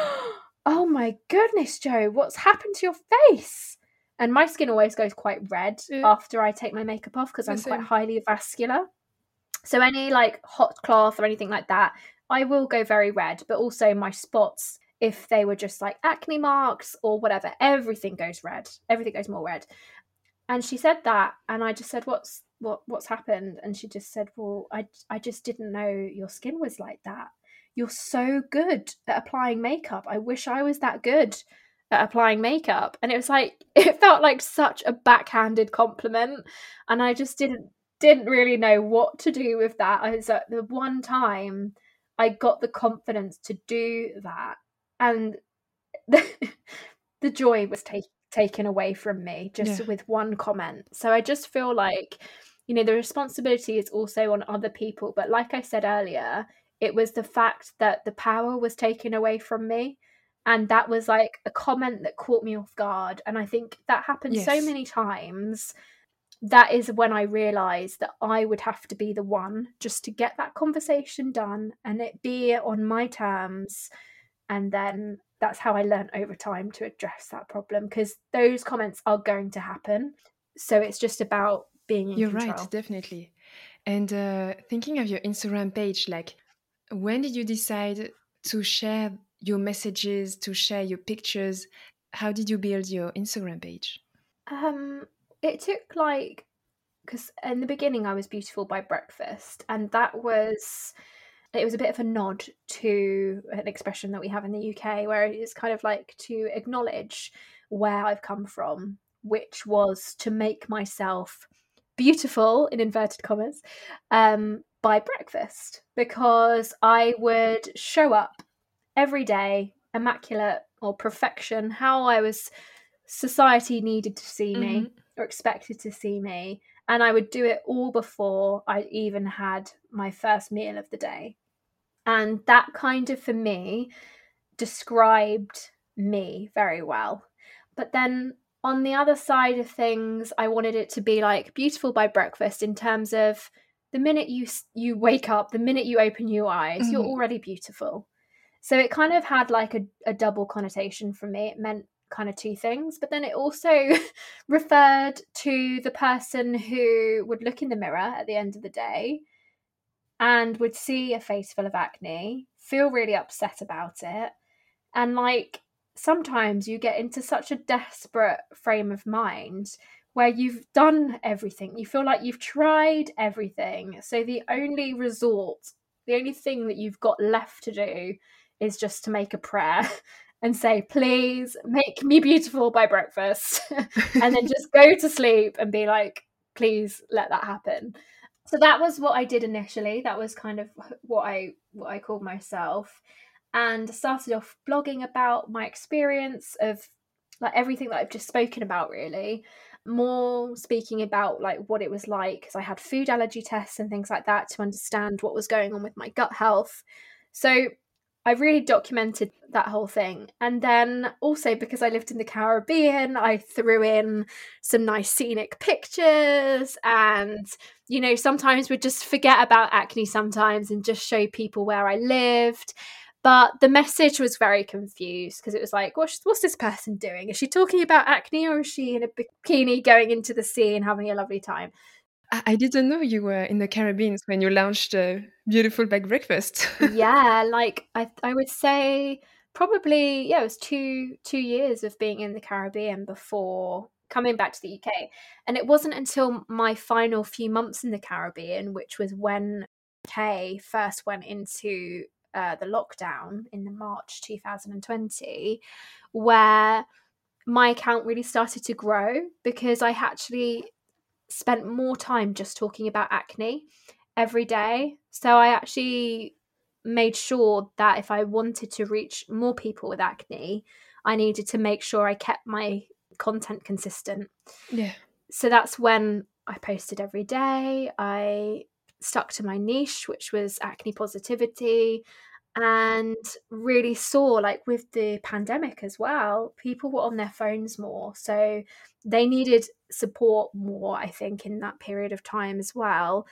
"Oh my goodness, Jo, what's happened to your face?" And my skin always goes quite red Yeah, after I take my makeup off because the I'm quite same. highly vascular. So any like hot cloth or anything like that, I will go very red, but also my spots, if they were just like acne marks or whatever, everything goes red. Everything goes more red. And she said that, and I just said, what's happened?" And she just said, "Well, I just didn't know your skin was like that. You're so good at applying makeup. I wish I was that good at applying makeup." And it was like it felt like such a backhanded compliment, and I just didn't really know what to do with that. I was at the one time I got the confidence to do that, and the, the joy was taken away from me just Yeah. with one comment. So I just feel like, you know, the responsibility is also on other people. But like I said earlier, it was the fact that the power was taken away from me. And that was like a comment that caught me off guard. And I think that happened so Yes. many times. That is when I realized that I would have to be the one just to get that conversation done and it be on my terms. And then that's how I learned over time to address that problem because those comments are going to happen. So it's just about being in You're right, control. definitely. And thinking of your Instagram page, like, when did you decide to share your messages, to share your pictures? How did you build your Instagram page? Um, it took like, because in the beginning I was Beautiful by Breakfast, and it was a bit of a nod to an expression that we have in the UK where it's kind of like to acknowledge where I've come from, which was to make myself beautiful in inverted commas by breakfast, because I would show up every day immaculate or perfection, how I was society needed to see Hmm. me or expected to see me, and I would do it all before I even had my first meal of the day. And that kind of, for me, described me very well. But then on the other side of things, I wanted it to be like Beautiful by Breakfast in terms of the minute you wake up, the minute you open your eyes, you're Hmm. already beautiful. So it kind of had like a double connotation for me. It meant kind of two things, but then it also referred to the person who would look in the mirror at the end of the day and would see a face full of acne, feel really upset about it, and like sometimes you get into such a desperate frame of mind where you've done everything. You feel like you've tried everything. So the only resort, the only thing that you've got left to do is just to make a prayer and say, "Please make me beautiful by breakfast." And then just go to sleep and be like, "Please let that happen." So that was what I did initially. That was kind of what I called myself, and started off blogging about my experience of like everything that I've just spoken about, really. More speaking about like what it was like, because I had food allergy tests and things like that to understand what was going on with my gut health. So I really documented that whole thing. And then also, because I lived in the Caribbean, I threw in some nice scenic pictures, and sometimes we'd just forget about acne sometimes and just show people where I lived. But the message was very confused, because it was like, what's this person doing? Is she talking about acne, or is she in a bikini going into the sea and having a lovely time? I didn't know you were in the Caribbean when you launched a beautiful bag breakfast. Yeah, like I would say probably, yeah, it was two years of being in the Caribbean before coming back to the UK. And it wasn't until my final few months in the Caribbean, which was when UK first went into the lockdown in the March 2020, where my account really started to grow, because I actually spent more time just talking about acne every day. So I actually made sure that if I wanted to reach more people with acne, I needed to make sure I kept my content consistent. Yeah. So that's when I posted every day. I stuck to my niche, which was acne positivity, and really saw, like, with the pandemic as well, people were on their phones more. So they needed support more, I think, in that period of time as well.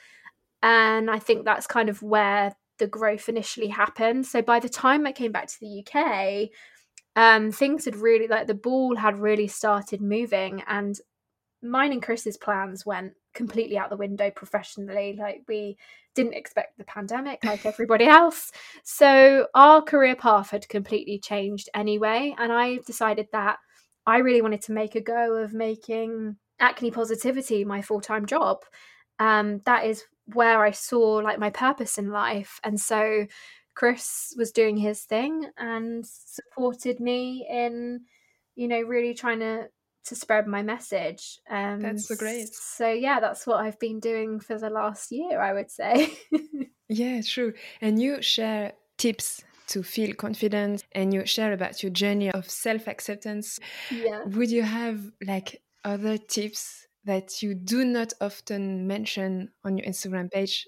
And I think that's kind of where the growth initially happened. So by the time I came back to the UK, things had really, like, the ball had really started moving, and mine and Chris's plans went completely out the window professionally. Like, we didn't expect the pandemic like everybody else. So our career path had completely changed anyway. And I decided that I really wanted to make a go of making acne positivity my full-time job. That is where I saw, like, my purpose in life. And so Chris was doing his thing and supported me in, really trying to spread my message. That's so great. So yeah, that's what I've been doing for the last year, I would say. Yeah, true. And you share tips to feel confident, and you share about your journey of self-acceptance. Yeah. Would you have like other tips that you do not often mention on your Instagram page?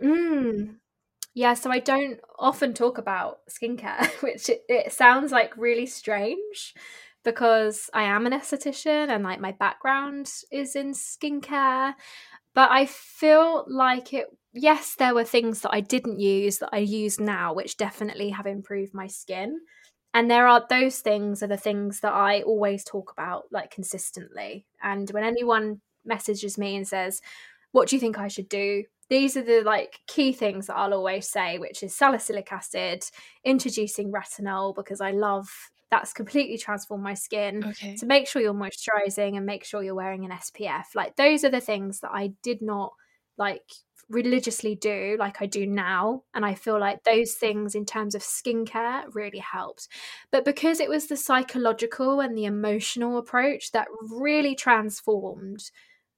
Yeah, so I don't often talk about skincare, which it sounds like really strange, because I am an esthetician and, like, my background is in skincare. But I feel like yes, there were things that I didn't use that I use now, which definitely have improved my skin. And those things are the things that I always talk about, like, consistently. And when anyone messages me and says, what do you think I should do? These are the, like, key things that I'll always say, which is salicylic acid, introducing retinol, because I love that's completely transformed my skin. Okay. To make sure you're moisturizing and make sure you're wearing an SPF. Like, those are the things that I did not, like, religiously do like I do now. And I feel like those things in terms of skincare really helped. But because it was the psychological and the emotional approach that really transformed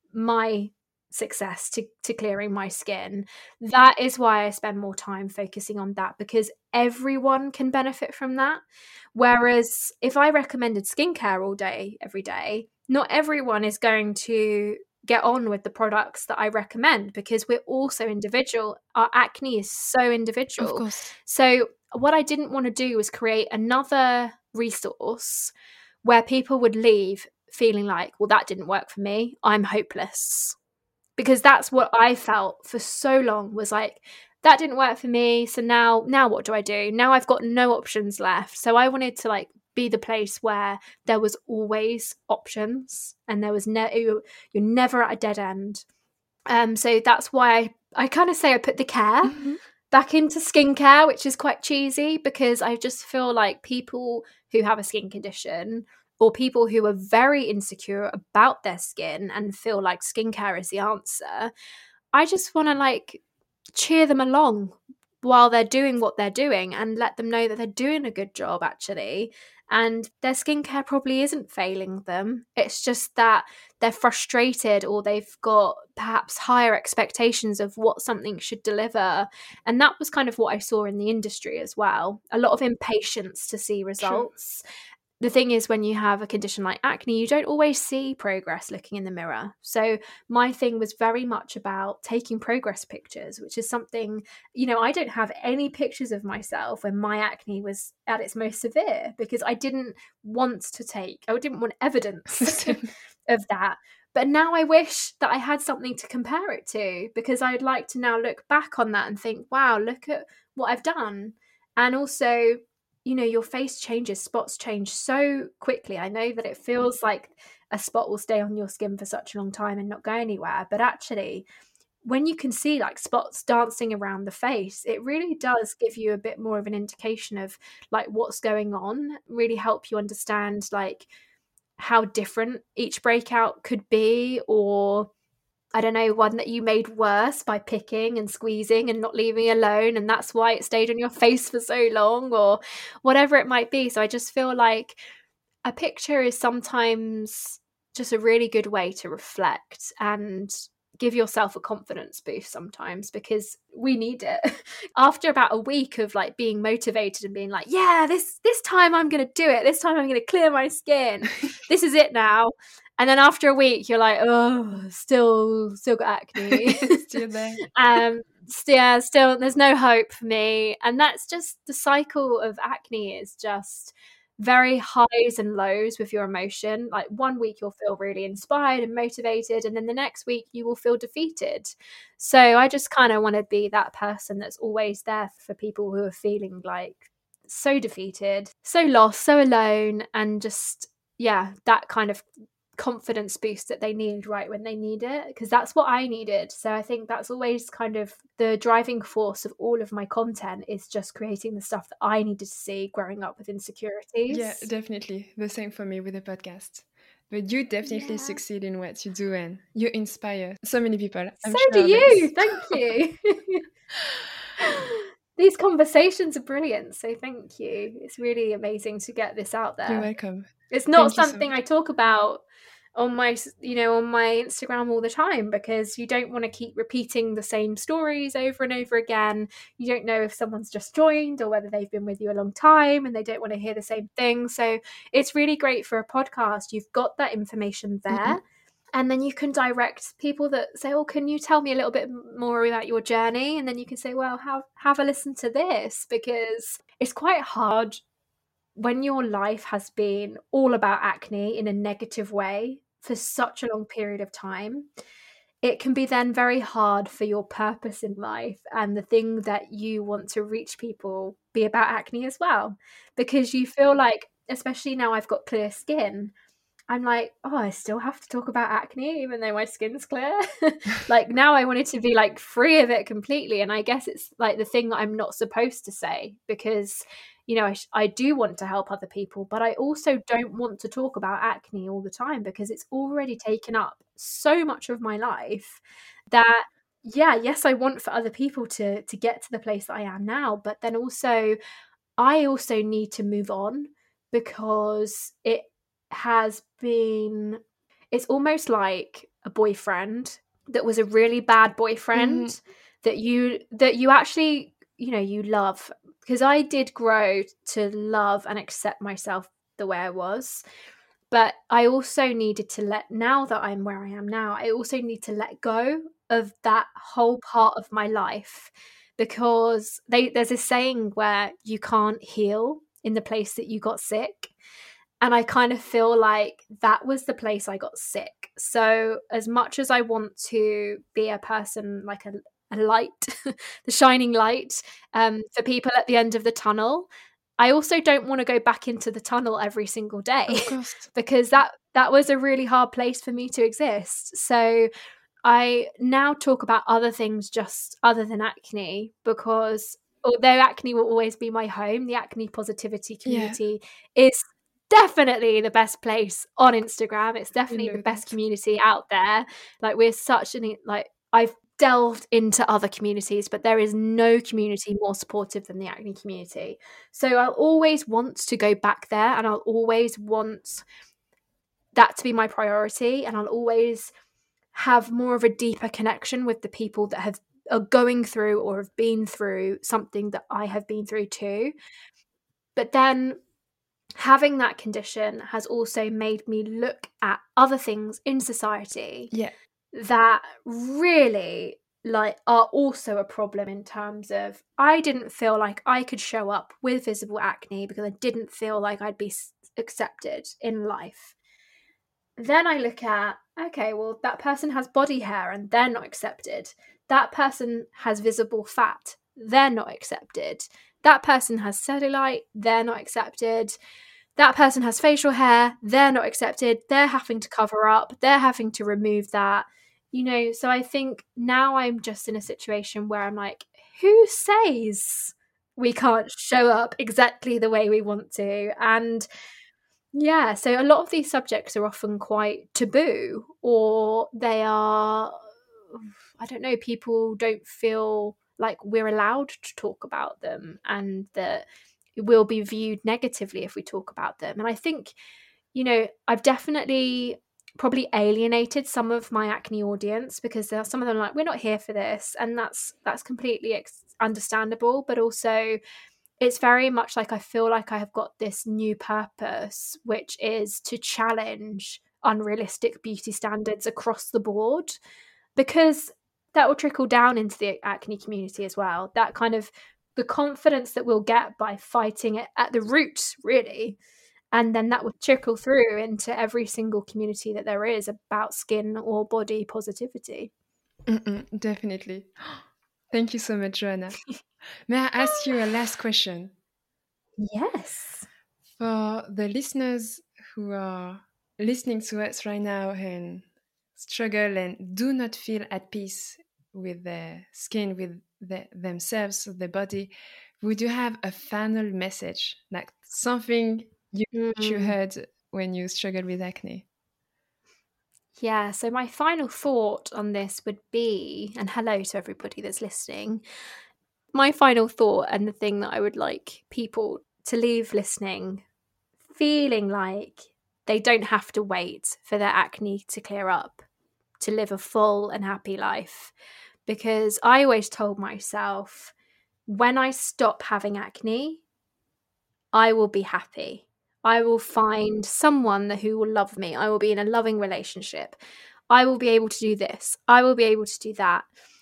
my success to clearing my skin, that is why I spend more time focusing on that, because everyone can benefit from that. Whereas if I recommended skincare all day every day, not everyone is going to get on with the products that I recommend, because we're also individual. Our acne is so individual. Of course. So what I didn't want to do was create another resource where people would leave feeling like, well, that didn't work for me, I'm hopeless. Because that's what I felt for so long, was like, that didn't work for me, so now what do I do? Now I've got no options left. So I wanted to, like, be the place where there was always options, and there was you're never at a dead end. So that's why I kind of say I put the care back into skincare, which is quite cheesy, because I just feel like people who have a skin condition, or people who are very insecure about their skin and feel like skincare is the answer, I just want to, like, cheer them along while they're doing what they're doing, and let them know that they're doing a good job, actually. And their skincare probably isn't failing them. It's just that they're frustrated, or they've got perhaps higher expectations of what something should deliver. And that was kind of what I saw in the industry as well. A lot of impatience to see results. the thing is, when you have a condition like acne, you don't always see progress looking in the mirror. So my thing was very much about taking progress pictures, which is something, I don't have any pictures of myself when my acne was at its most severe, because I didn't want evidence of that. But now I wish that I had something to compare it to, because I'd like to now look back on that and think, wow, look at what I've done. And also, your face changes, spots change so quickly. I know that it feels like a spot will stay on your skin for such a long time and not go anywhere. But actually, when you can see like spots dancing around the face, it really does give you a bit more of an indication of like what's going on, really help you understand like how different each breakout could be, or I don't know, one that you made worse by picking and squeezing and not leaving alone, and that's why it stayed on your face for so long, or whatever it might be. So I just feel like a picture is sometimes just a really good way to reflect and give yourself a confidence boost sometimes, because we need it. After about a week of like being motivated and being like, yeah, this time I'm going to do it. This time I'm going to clear my skin. This is it now. And then after a week, you're like, oh, still got acne. Still there. Still, there's no hope for me. And that's just the cycle of acne, is just very highs and lows with your emotion. Like one week you'll feel really inspired and motivated, and then the next week you will feel defeated. So I just kind of want to be that person that's always there for people who are feeling like so defeated, so lost, so alone, and just, that kind of confidence boost that they need right when they need it, because that's what I needed. So I think that's always kind of the driving force of all of my content, is just creating the stuff that I needed to see growing up with insecurities. Yeah, definitely. The same for me with the podcast. But you definitely succeed in what you do, and you inspire so many people. I'm so sure do you. Thank you. These conversations are brilliant, so thank you. It's really amazing to get this out there. You're welcome. It's not something I talk about on my Instagram all the time, because you don't want to keep repeating the same stories over and over again. You don't know if someone's just joined or whether they've been with you a long time and they don't want to hear the same thing. So it's really great for a podcast. You've got that information there. Mm-hmm. And then you can direct people that say, oh, can you tell me a little bit more about your journey? And then you can say, well, have a listen to this, because it's quite hard when your life has been all about acne in a negative way for such a long period of time. It can be then very hard for your purpose in life and the thing that you want to reach people be about acne as well, because you feel like, especially now I've got clear skin, I'm like, oh, I still have to talk about acne even though my skin's clear. Like now I wanted to be like free of it completely. And I guess it's like the thing that I'm not supposed to say, because, I do want to help other people, but I also don't want to talk about acne all the time, because it's already taken up so much of my life that, yes, I want for other people to get to the place that I am now. But then also, I also need to move on, because it's almost like a boyfriend that was a really bad boyfriend, mm-hmm. that you actually, you love. Because I did grow to love and accept myself the way I was. But I also needed to now that I'm where I am now, I also need to let go of that whole part of my life, because there's a saying where you can't heal in the place that you got sick. And I kind of feel like that was the place I got sick. So as much as I want to be a person, like a light, the shining light for people at the end of the tunnel, I also don't want to go back into the tunnel every single day, because that was a really hard place for me to exist. So I now talk about other things just other than acne, because although acne will always be my home, the acne positivity community is definitely the best place on Instagram. It's definitely the best community out there. Like we're such I've delved into other communities, but there is no community more supportive than the acne community. So I'll always want to go back there, and I'll always want that to be my priority, and I'll always have more of a deeper connection with the people that are going through or have been through something that I have been through too. But then having that condition has also made me look at other things in society that really are also a problem, in terms of I didn't feel like I could show up with visible acne because I didn't feel like I'd be accepted in life. Then I look at, okay, well, that person has body hair and they're not accepted. That person has visible fat, they're not accepted. That person has cellulite, they're not accepted. That person has facial hair, they're not accepted. They're having to cover up, they're having to remove that. So I think now I'm just in a situation where I'm like, who says we can't show up exactly the way we want to? And yeah, so a lot of these subjects are often quite taboo, or they are, I don't know, people don't feel like we're allowed to talk about them, and that will be viewed negatively if we talk about them. And I think, I've definitely probably alienated some of my acne audience, because there are some of them like, we're not here for this, and that's completely understandable. But also, it's very much like I feel like I have got this new purpose, which is to challenge unrealistic beauty standards across the board, because that will trickle down into the acne community as well. That kind of the confidence that we'll get by fighting it at the root, really. And then that will trickle through into every single community that there is about skin or body positivity. Definitely. Thank you so much, Joanna. May I ask you a last question? Yes. For the listeners who are listening to us right now and struggle and do not feel at peace with their skin, with themselves, their body, would you have a final message, like something you heard when you struggled with acne? Yeah, so my final thought on this would be, and hello to everybody that's listening, my final thought, and the thing that I would like people to leave listening feeling like they don't have to wait for their acne to clear up to live a full and happy life. Because I always told myself, when I stop having acne, I will be happy. I will find someone who will love me. I will be in a loving relationship. I will be able to do this. I will be able to do that.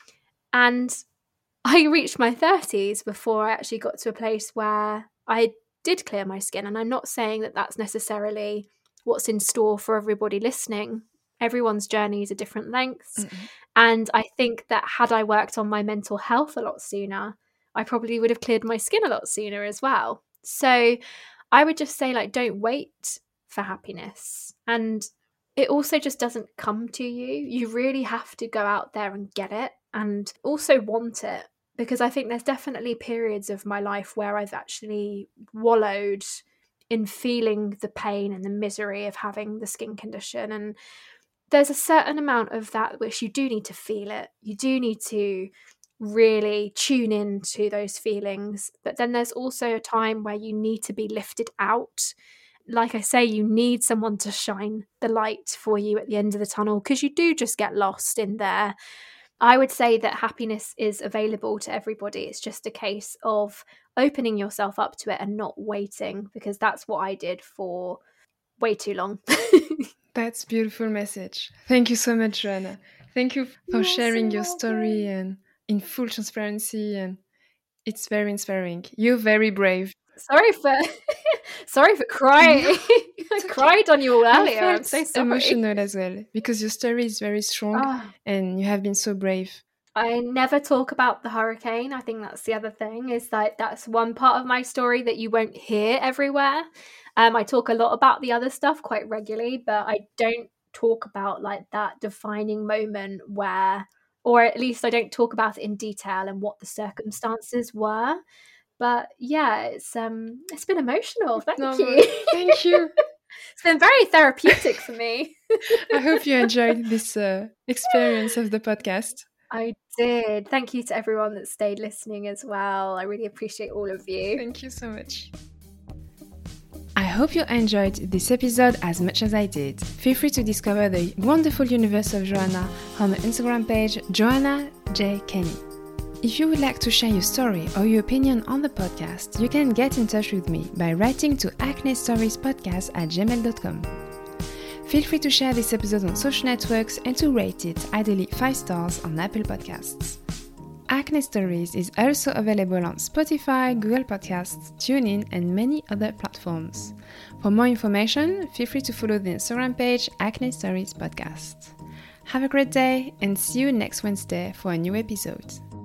And I reached my 30s before I actually got to a place where I did clear my skin. And I'm not saying that that's necessarily what's in store for everybody listening. Everyone's journeys are different lengths. And I think that had I worked on my mental health a lot sooner, I probably would have cleared my skin a lot sooner as well. So I would just say, like, don't wait for happiness. And it also just doesn't come to you. You really have to go out there and get it, and also want it. Because I think there's definitely periods of my life where I've actually wallowed in feeling the pain and the misery of having the skin condition. And there's a certain amount of that which you do need to feel it. You do need to really tune in to those feelings. But then there's also a time where you need to be lifted out. Like I say, you need someone to shine the light for you at the end of the tunnel, because you do just get lost in there. I would say that happiness is available to everybody. It's just a case of opening yourself up to it and not waiting, because that's what I did for way too long. That's a beautiful message. Thank you so much, Joanna. Thank you for sharing your story and in full transparency, and it's very inspiring. You're very brave. Sorry for crying. I cried on you earlier. I'm so sorry. Emotional as well, because your story is very strong and you have been so brave. I never talk about the hurricane. I think that's the other thing, is like that's one part of my story that you won't hear everywhere. I talk a lot about the other stuff quite regularly, but I don't talk about like that defining moment where, or at least I don't talk about it in detail and what the circumstances were. But yeah, it's been emotional. Thank you. Thank you. It's been very therapeutic for me. I hope you enjoyed this experience of the podcast. I did. Thank you to everyone that stayed listening as well. I really appreciate all of you. Thank you so much. I hope you enjoyed this episode as much as I did. Feel free to discover the wonderful universe of Joanna on my Instagram page, Joanna J. Kenny. If you would like to share your story or your opinion on the podcast, you can get in touch with me by writing to acnestoriespodcast@gmail.com. Feel free to share this episode on social networks and to rate it, ideally 5 stars, on Apple Podcasts. Acne Stories is also available on Spotify, Google Podcasts, TuneIn, and many other platforms. For more information, feel free to follow the Instagram page Acne Stories Podcast. Have a great day and see you next Wednesday for a new episode.